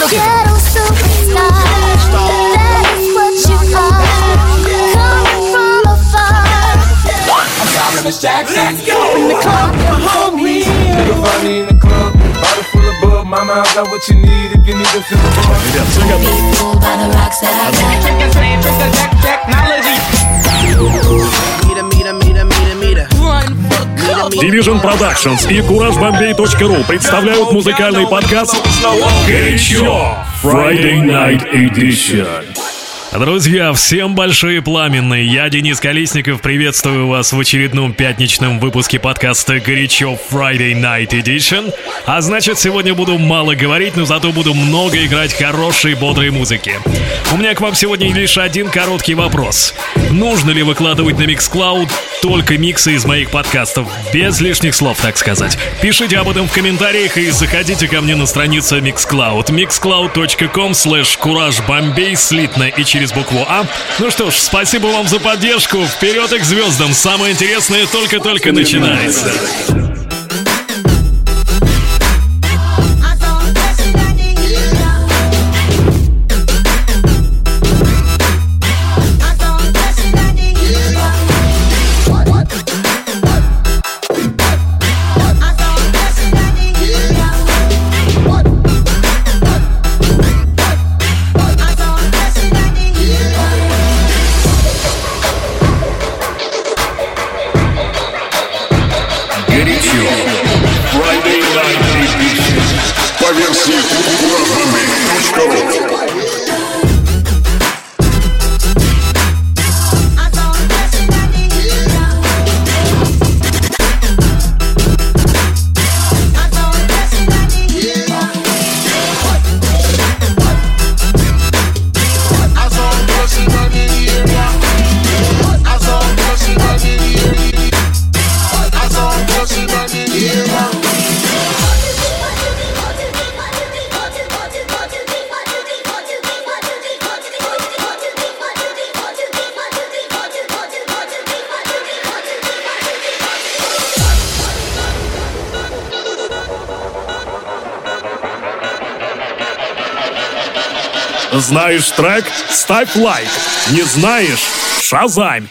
Ghetto superstar, that is what you are. Coming from afar. I'm sorry, Miss Jackson. Let's go in the club, homie. Nigga find me in the club, bottle full of bub. Mama, I got what you need if you need to feel the bug. Be fooled by the rocks that I got. Division Productions и CourageBombay.ru представляют музыкальный подкаст «Горячо! Friday Night Edition». Друзья, всем большие пламенные. Я, Денис Колесников, приветствую вас в очередном пятничном выпуске подкаста «Горячо! Friday Night Edition». А значит, сегодня буду мало говорить, но зато буду много играть хорошей, бодрой музыки. У меня к вам сегодня лишь один короткий вопрос. Нужно ли выкладывать на Mixcloud только миксы из моих подкастов? Без лишних слов, так сказать. Пишите об этом в комментариях и заходите ко мне на страницу Mixcloud. mixcloud.com/CourageBombay слитно и через букву А. Ну что ж, спасибо вам за поддержку. Вперед и к звездам. Самое интересное только-только начинается. Знаешь трек? Ставь лайк. Не знаешь? Шазамь.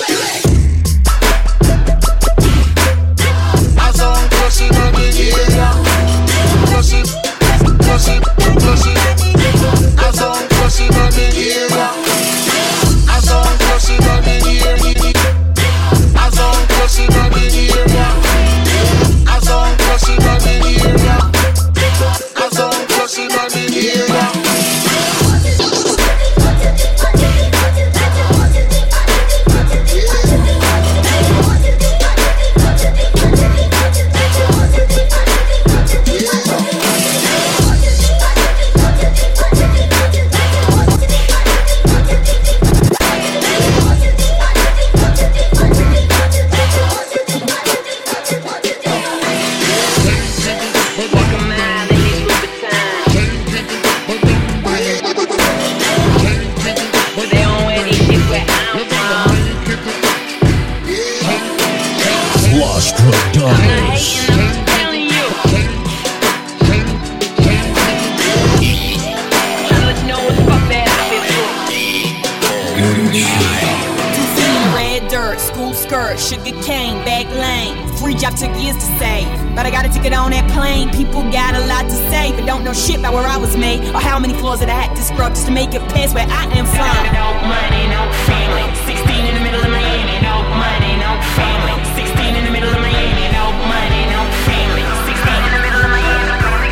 Sugar cane, back lane. Free job took years to save, but I got a ticket on that plane. People got a lot to say, but don't know shit about where I was made or how many floors that I had to scrub just to make it past where I am from. No money, no family. 16 in the middle of Miami. No money, no family. 16 in the middle of Miami. No money, no family. 16 in the middle of Miami.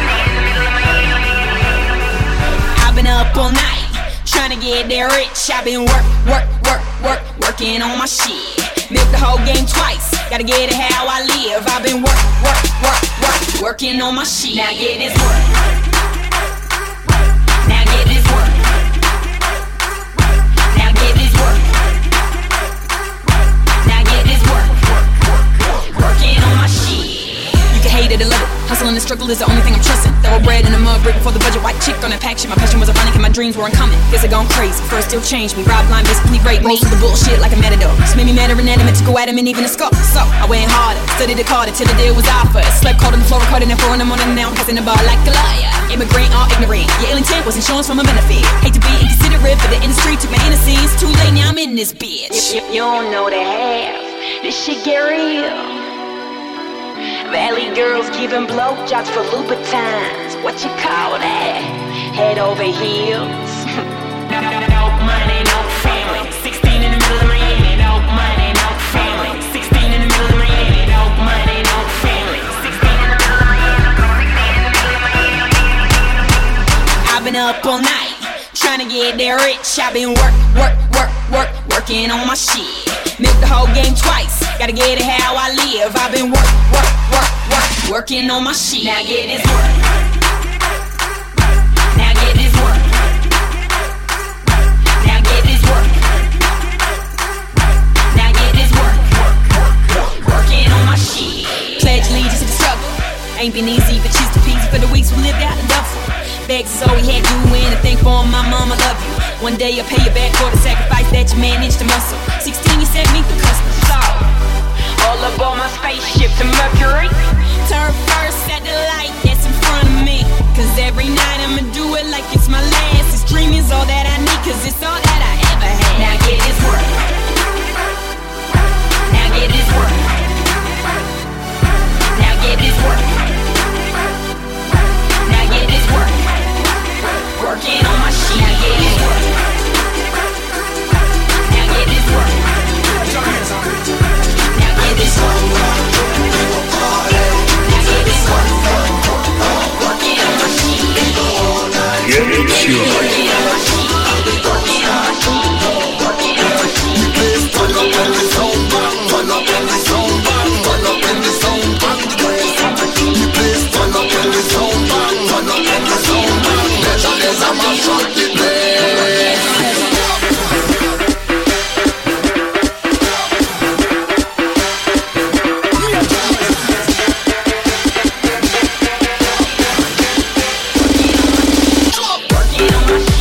I've been up all night trying to get there rich. I've been working on my shit. Milk the whole game twice, gotta get it how I live. I've been working on my shit. Now get this work. Now get this work. Now get this work. Now get this work. Working on my shit. You can hate it or love it. Hustle and the struggle is the only thing I'm trusting. Throw bread in the mud, break before the budget. White chick on that pack shit. My passion was ironic and my dreams were uncommon. Guess I gone crazy. First still changed me. Rob blind, basically rape me. Most of the bullshit like a matador. Just made me mad or inanimate to go at him and even a scuff. So I went harder, studied the Carter till the deal was offered. Slept cold on the floor, recording at 4 in the morning. Now I'm passing the bar like a liar. Immigrant or ignorant. Your ill intent was insurance from a benefit. Hate to be inconsiderate, but the industry took my innocence. Too late, now I'm in this bitch. If you don't know the half, this shit get real. Valley girls giving blowjobs for Louboutins. What you call that? Head over heels. No money, no family. 16 in the middle of Miami. No money, no family. 16 in the middle of Miami. No money, no family. 16 in the middle of Miami. I've been up all night trying to get there rich. I've been working on my shit. Milk the whole game twice. Gotta get it how I live. I've been working on my shit. Now get this work. Now get this work. Now get this work. Now get this work. Working on my shit. Pledge allegiance to the struggle. Ain't been easy, but she's too peasy for the weeks we lived out in Duffel. Begs is all we had to do, anything for my mama, love you. One day I'll pay you back for the sacrifice that you managed to muscle. 16, you set me through customs. So, all aboard my spaceship to Mercury. turn first at the light that's in front of me. Cause every night I'ma do it like it's my last. This dream is all that I need, cause it's all that I ever had. Now get this work. Now get this work. Now get this work. Now get this work. Working on my shit. Now get this work. Now get this work. Now get this work. Now get this work. Working on my shit. Get it sure. Working on my shit. Working on my shit. Working on my shit. Turn up in the sound bang, turn up in the sound bang, turn up in the sound bang. The place turn up in the sound bang, turn up in the sound bang. There's a mash up the place. Working on my shit.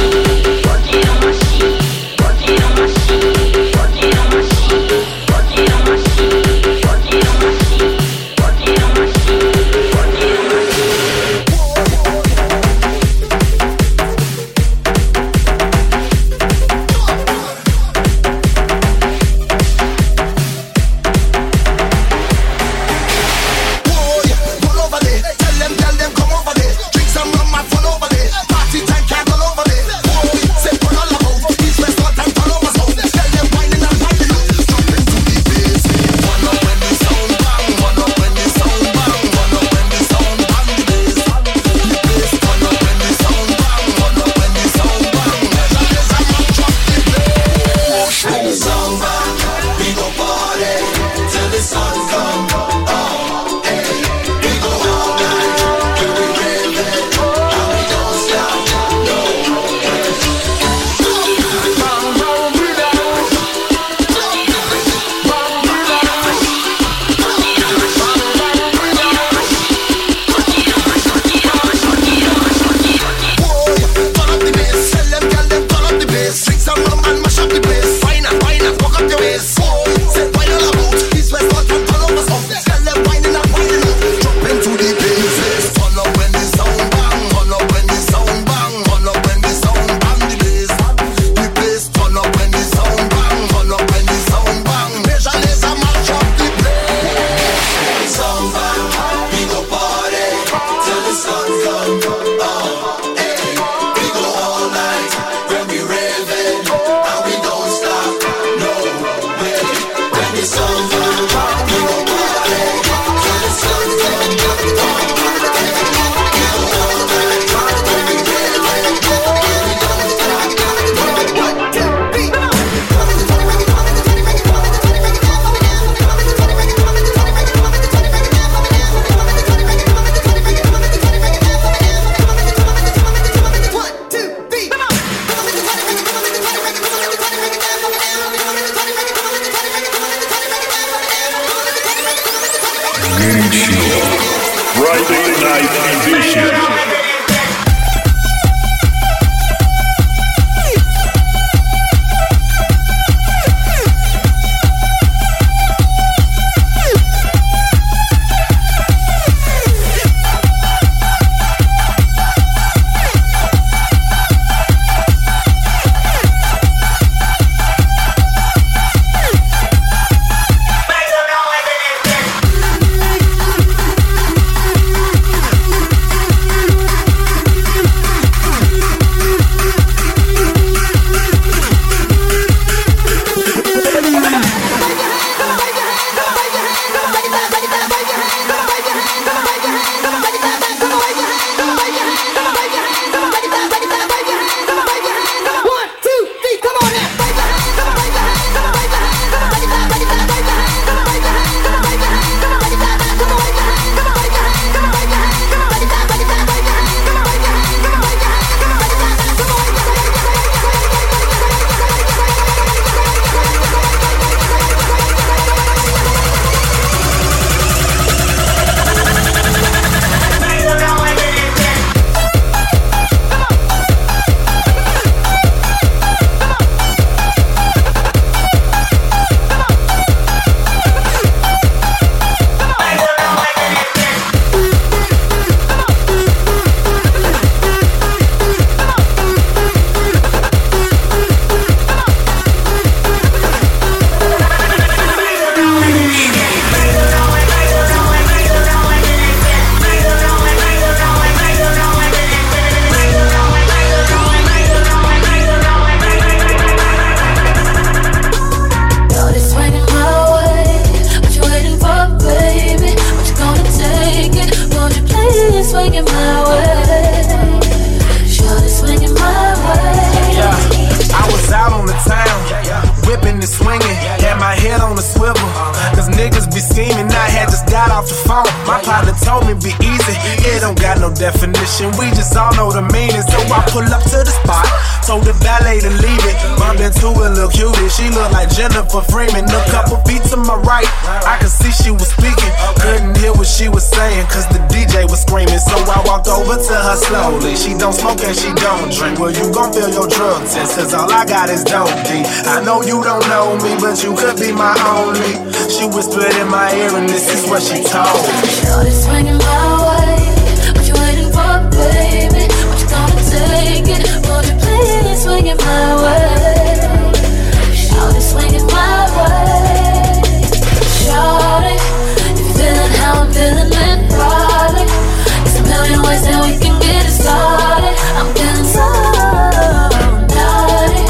off the phone. My partner told me be easy. It don't got no definition. We just all know the meaning. So I pull up to the spot. Told the valet to leave it. Bump into a little cutie. She look like Jennifer Freeman. A couple feet to my right. I could see she was speaking. Couldn't hear what she was saying, cause the DJ was screaming. So I walked over to her slowly. She don't smoke and she don't drink. Well, you gon' feel your drug test, cause all I got is dope D. I know you don't know me, but you could be my only. She whispered in my ear and this is what she told me. Shorty swinging my way. What you waiting for, baby? What you gonna take it? Won't you please swing it my way? Shorty swinging my way. Shorty, you feeling how I'm feeling it, probably. There's a million ways that we can get it started. I'm feeling so naughty.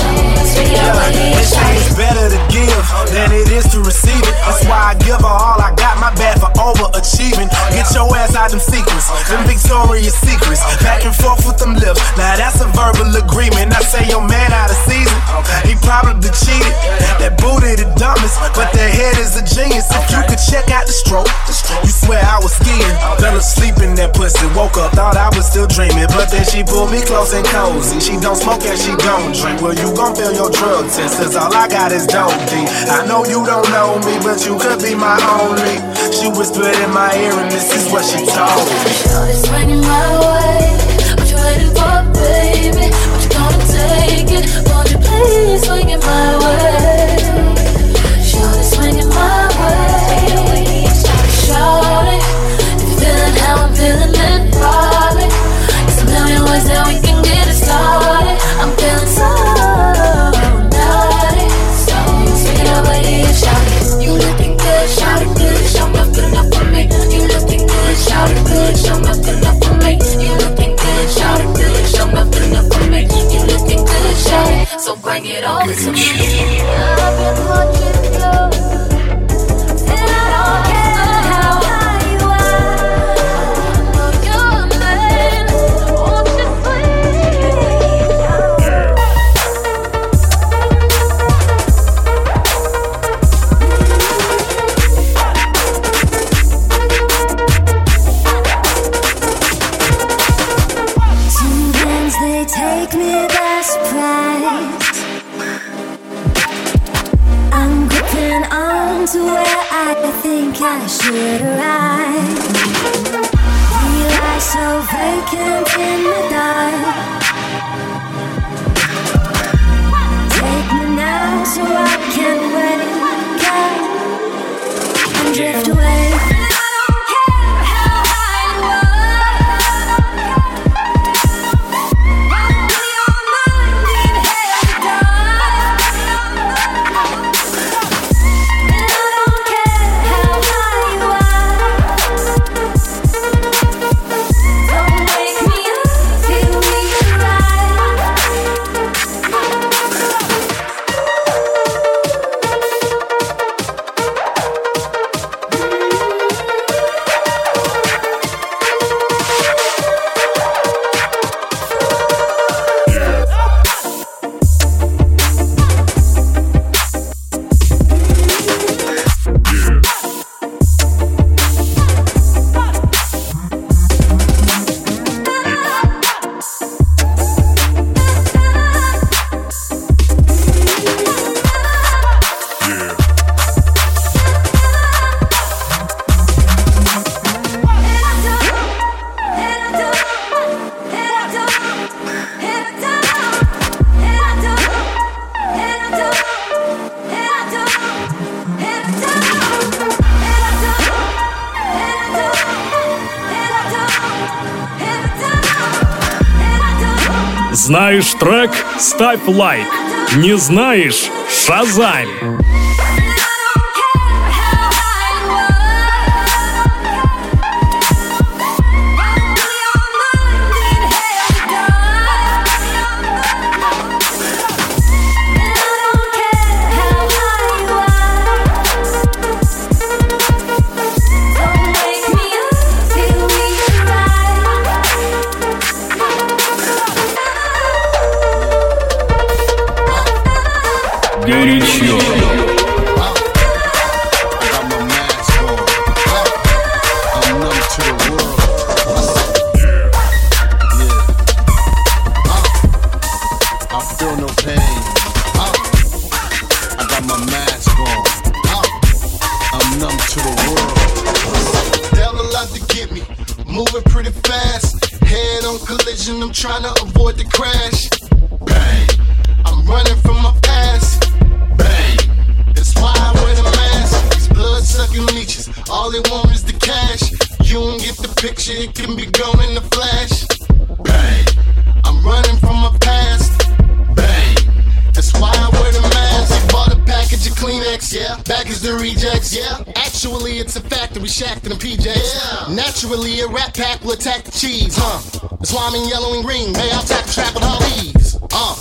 It's better to give than it is to receive it. That's why I give her all I got. My bad for overachieving. Get your ass out them secrets, them Victoria's Secrets. Back and forth with them lips. Now that's a verbal agreement. I say your man out of season. He probably cheated. That booty the dumbest, but that head is a genius. If you could check out the stroke, you swear I was skiing. Fell asleep in that pussy. Woke up, thought I was still dreaming. But then she pulled me close and cozy. She don't smoke and she don't drink. Well, you gon' feel your drug test, cause all I got is dope D. I know you don't know me, but you could be my only. She whispered in my ear and this is what she told me. Shorty swinging my way. What you waiting for, baby? What you gonna take it? Won't you please swing it my way? Shorty swinging my way. Shorty, if you feeling how I'm feeling it, probably. There's a million ways that we can get it started. I'm feeling so naughty. So swing it over here, shorty. You looking good, shorty good. Show me good enough for me. You looking good, shorty good. Show me good enough for me. You looking good, shorty good. Show me good enough for me. You looking good, shorty. So bring it on to me. I've been watching you, and I don't care how high you are. I know you're a man. Won't you Sometimes they take me by surprise. I'm gripping on to where I think I should arrive. We lie so vacant in the dark. Take me now so I can wake up and drift away. Знаешь трек? Ставь лайк. Не знаешь? Шазамь. Горячо. feel no pain. I got my mask on. I'm numb to the world. Devil out to get me, moving pretty fast. Head on collision, I'm trying to avoid the crash. Bang, I'm running from my past. Bang, that's why I wear the mask. These blood-sucking leeches, all they want is the cash. You don't get the picture, it can be gone in a flash. Bang, I'm running from my past. Bang, that's why I wear the mask. They bought a package of Kleenex, yeah. Back is the rejects, yeah. Actually, it's a factory shack in the PJs. Yeah. Naturally, a rat pack will attack the cheese, That's why I'm in yellow and green. Hey, I'll tap the trap with all these.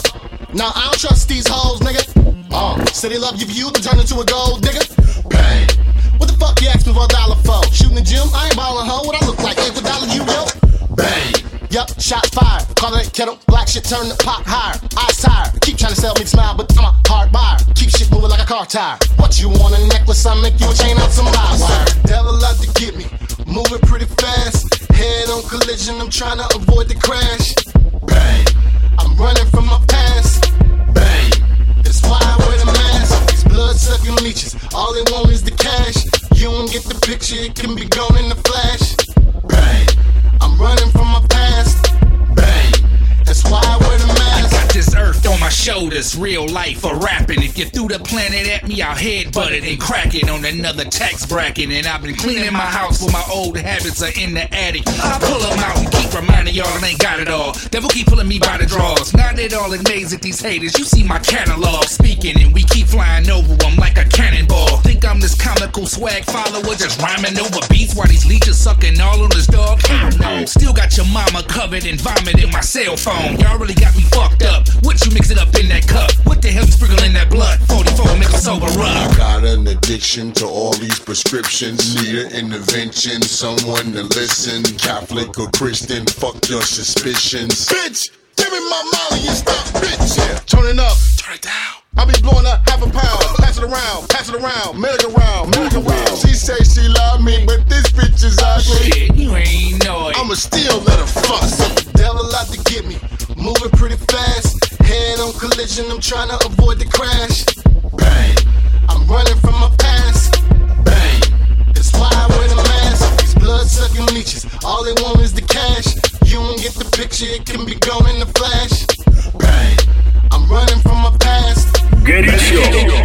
Now I don't trust these hoes, nigga. Say they love your view, then turn into a gold digger. Bang. What the fuck you ask me for $1 for? Shooting the gym, I ain't ballin' hoe. What I look like? $8 you will? Bang. Yup, shot fired. Call it kettle, black shit turn the pot higher. Eyes tired. Keep trying to sell me smile, but I'm a hard buyer. Keep shit moving like a car tire. What you want, a necklace? I make you a chain out some live wire. Devil out to get me, moving pretty fast. Head on collision, I'm trying to avoid the crash. Bang, I'm running from my past. Bang, that's why I wear the mask. These blood-sucking leeches, all they want is the cash. You don't get the picture, it can be gone in a flash. Bang, I'm running from my past. Bang, that's why I wear the mask. I got this earth on my shoulders, real life for rapping. If you threw the planet at me, I'll headbutt it and crack it on another tax bracket. And I've been cleaning my house where my old habits are in the attic. I pull them out and keep reminding y'all I ain't got it all. Devil keep pulling me by the draws. Now they all amazed at these haters. You see my catalog speaking, and we keep flying over them like a cannonball. Think I'm this comical swag follower, just rhyming over beats while these leeches sucking all on this dog? Hell no. Still got your mama covered in vomit in my cell phone. Y'all really got me fucked up. What you mix it up in that cup? What the hell you sprinkling that blood? 44 make a sober rub. I got an addiction to all these prescriptions. Need an intervention, someone to listen. Catholic or Christian, fuck your suspicions. Bitch, give me my Molly and stop, bitch. Yeah. Turn it up, turn it down. I be blowing up half a pound. Pass it around, merry-go-round. She say she love me, but this bitch is ugly. Shit, you ain't know it. I'ma still let her fuck. Devil out to get me, moving pretty fast. Head on collision, I'm trying to avoid the crash. Bang, I'm running from my past. Bang, that's why I wear the mask. These blood-sucking leeches, all they want is the cash. You don't get the picture, it can be gone in a flash. Bang, I'm running from my past. Горячо.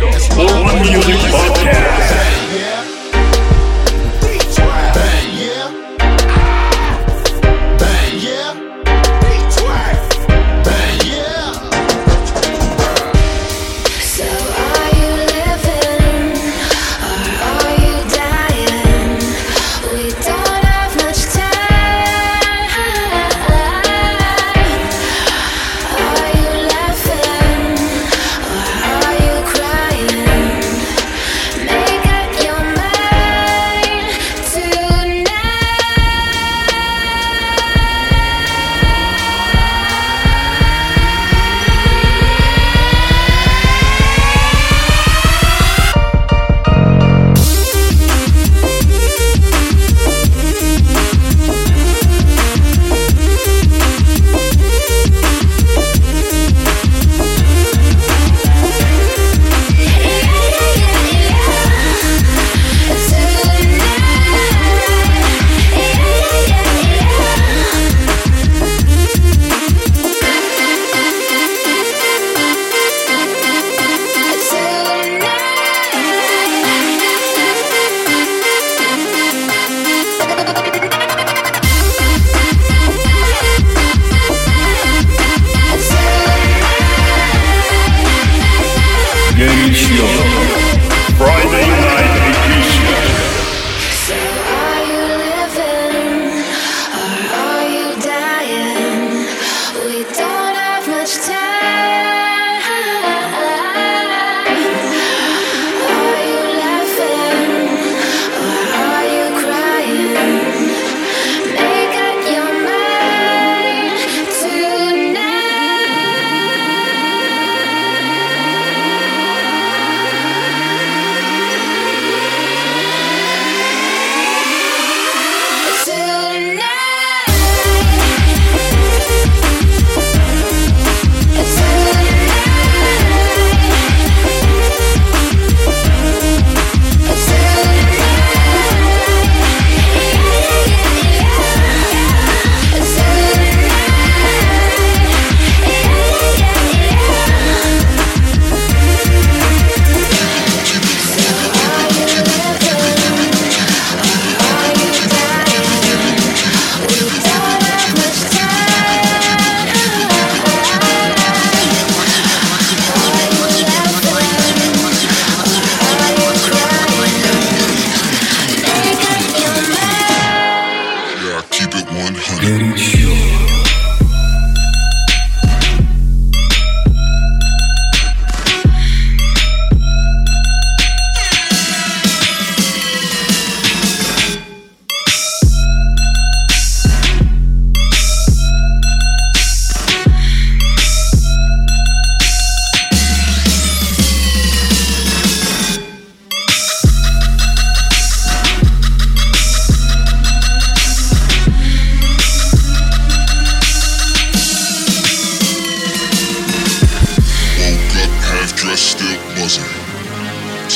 Urban Music Podcast. Yeah. Bang, yeah. Bang, yeah. Bang, yeah. So are you living or are you dying? We don't have much time. Are you laughing or are you crying?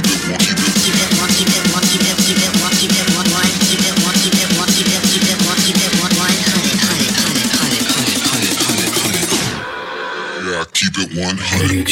Keep it 100.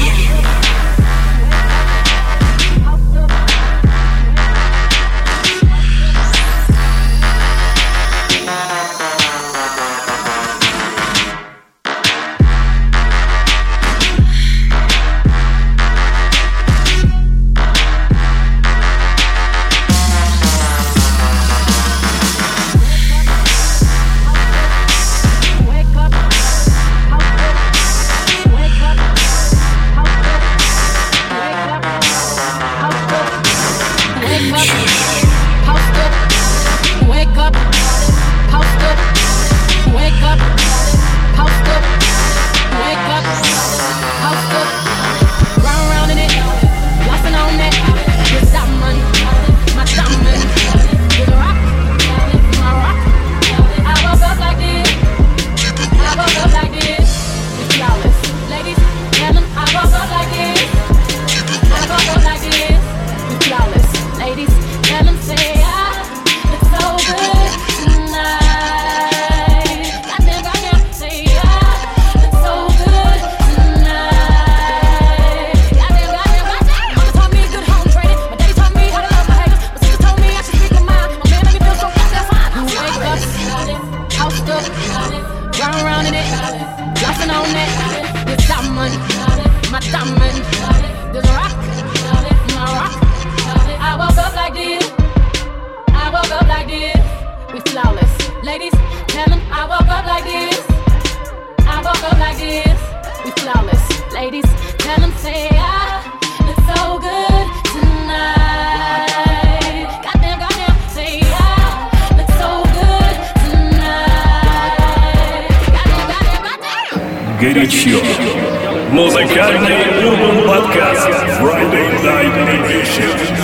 Горячо. Музыкальный Urban подкаст Friday Night Edition.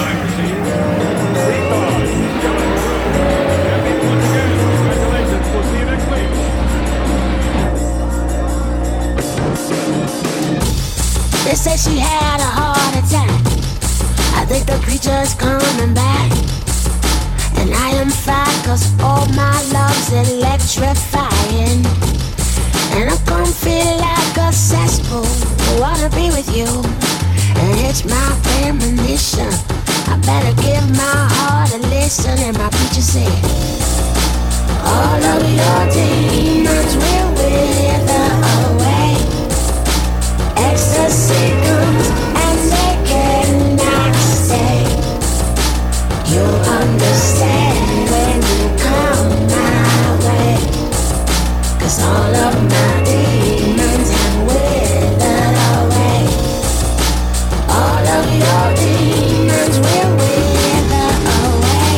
They say she had a heart attack. I think the creature's coming back. And I am fine, cause all my love's electrifying. And I'm gonna feel like a cesspool. I wanna be with you, and it's my premonition. I better give my heart a listen. And my preacher said, all of your demons will wither away. Ecstasy comes and they cannot stay. You'll understand when you come my way. Cause all of my demons have withered away. All of your demons will wither away.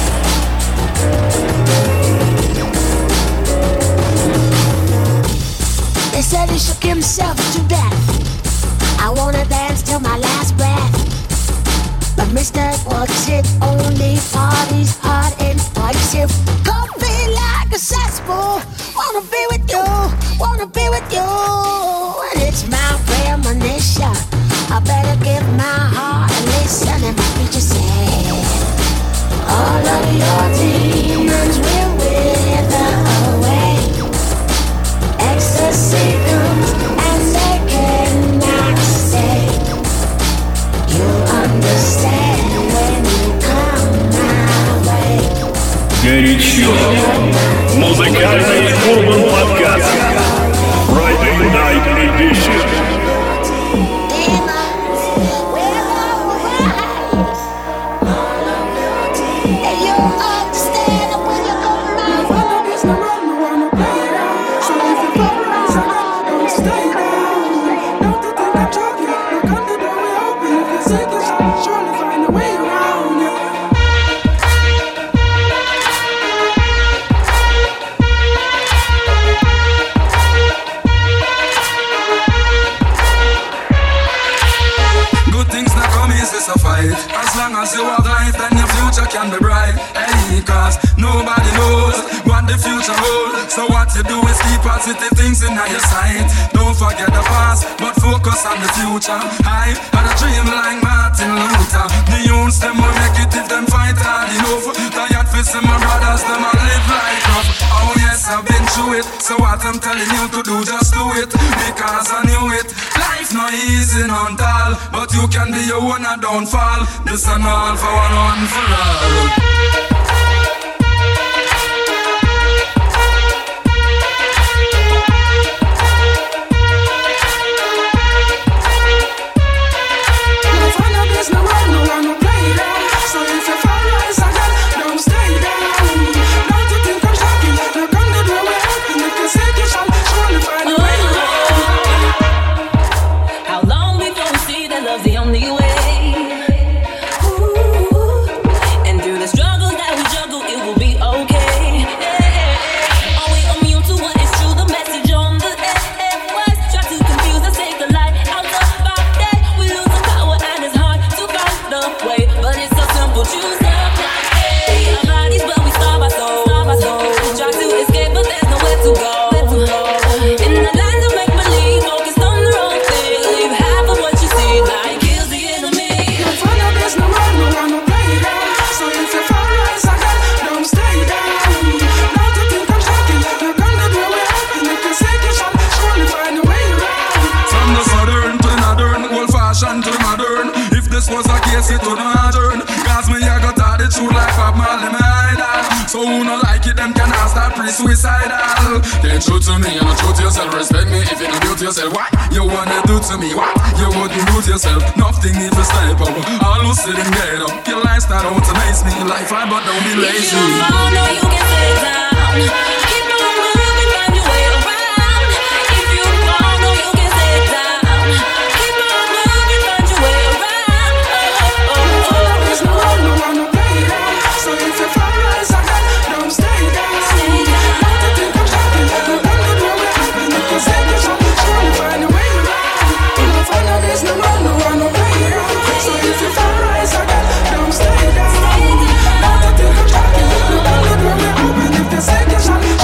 They said he shook himself to death. I wanna dance till my last breath. But Mr. What's it only parties hard and impulsive. Could be like a cesspool. Wanna be with you, wanna be with you. And it's my premonition. I better give my heart a listen. And my preacher said, all of your demons will wither away. Ecstasy comes and they cannot stay. You'll understand when you come my way. Горячо. Музыкальный Urban подкаст Friday Night Edition. Surely positive things in your sight. Don't forget the past, but focus on the future. I had a dream like Martin Luther. The youths, them will make it if them fight hard enough. Tired for some my brothers, them will live like rough. Oh yes, I've been through it. So what I'm telling you to do, just do it. Because I knew it. Life not easy, not all. But you can be your own and don't fall. This and all for one for all. It would not turn, cause me I got all the truth like Bob Marley, my idol. So who not like it, them can ask that pre-suicidal. Can't true to me, and not true to yourself. Respect me if you don't do to yourself. What you wanna do to me? What you wouldn't do to yourself? Nothing need to step up. All who sit and get up. Your lifestyle don't amaze me. Life hard, but don't be lazy. If you fall, no, you can stay down. Keep on moving, find your way around. If you fall, no, you can stay down. Keep on moving, find your way around. So if you fall, rise again, don't stay down. Not to think I'm shocking, no wonder do what happened. You can say this, surely find a way around. If you follow this, no run, no way around. So if you fall, rise again, don't stay down. Not to think I'm shocking, no wonder do what happened. If you say this,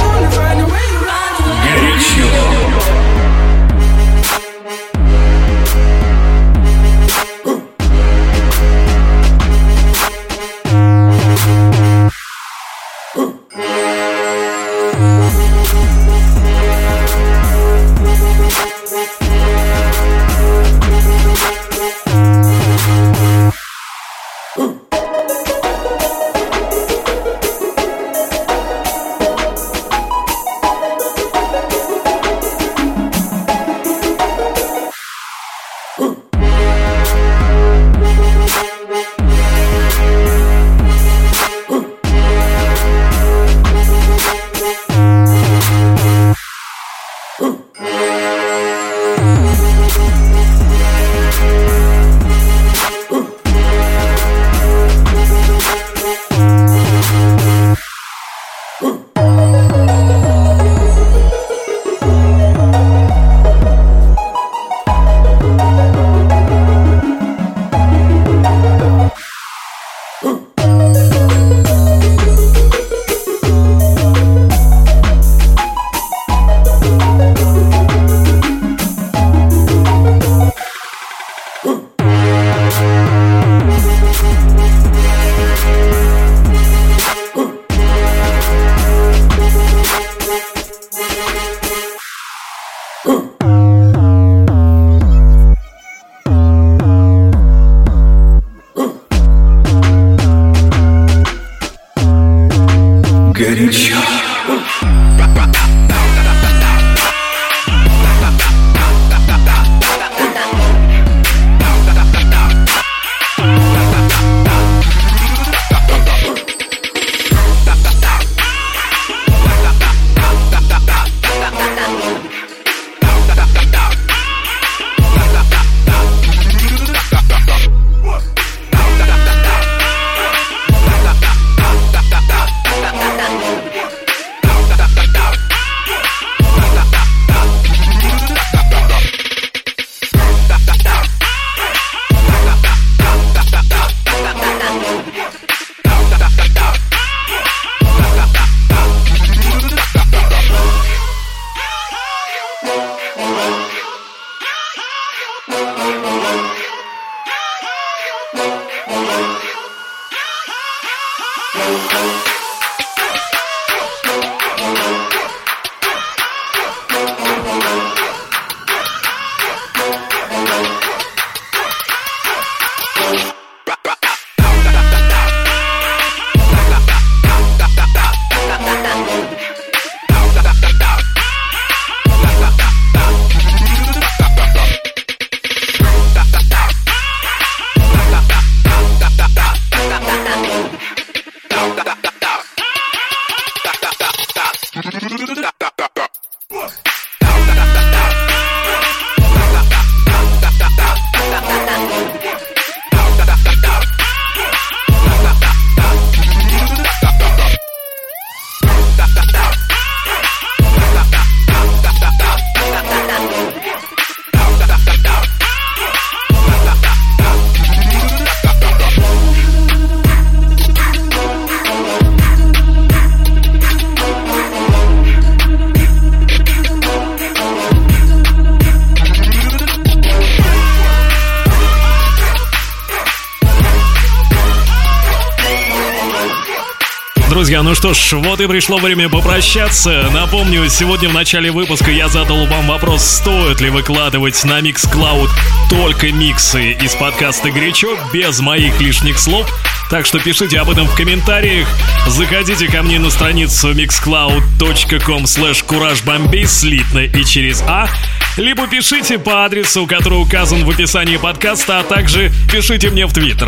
друзья, ну что ж, вот и пришло время попрощаться. Напомню, сегодня в начале выпуска я задал вам вопрос, стоит ли выкладывать на Mixcloud только миксы из подкаста «Горячо», без моих лишних слов. Так что пишите об этом в комментариях. Заходите ко мне на страницу mixcloud.com/CourageBombay слитно и через А. Либо пишите по адресу, который указан в описании подкаста, а также пишите мне в Твиттер.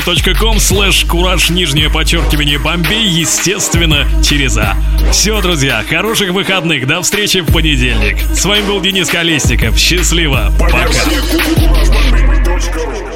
twitter.com/Courage_Bombay, естественно, через А. Все, друзья, хороших выходных. До встречи в понедельник. С вами был Денис Колесников. Счастливо. Пока.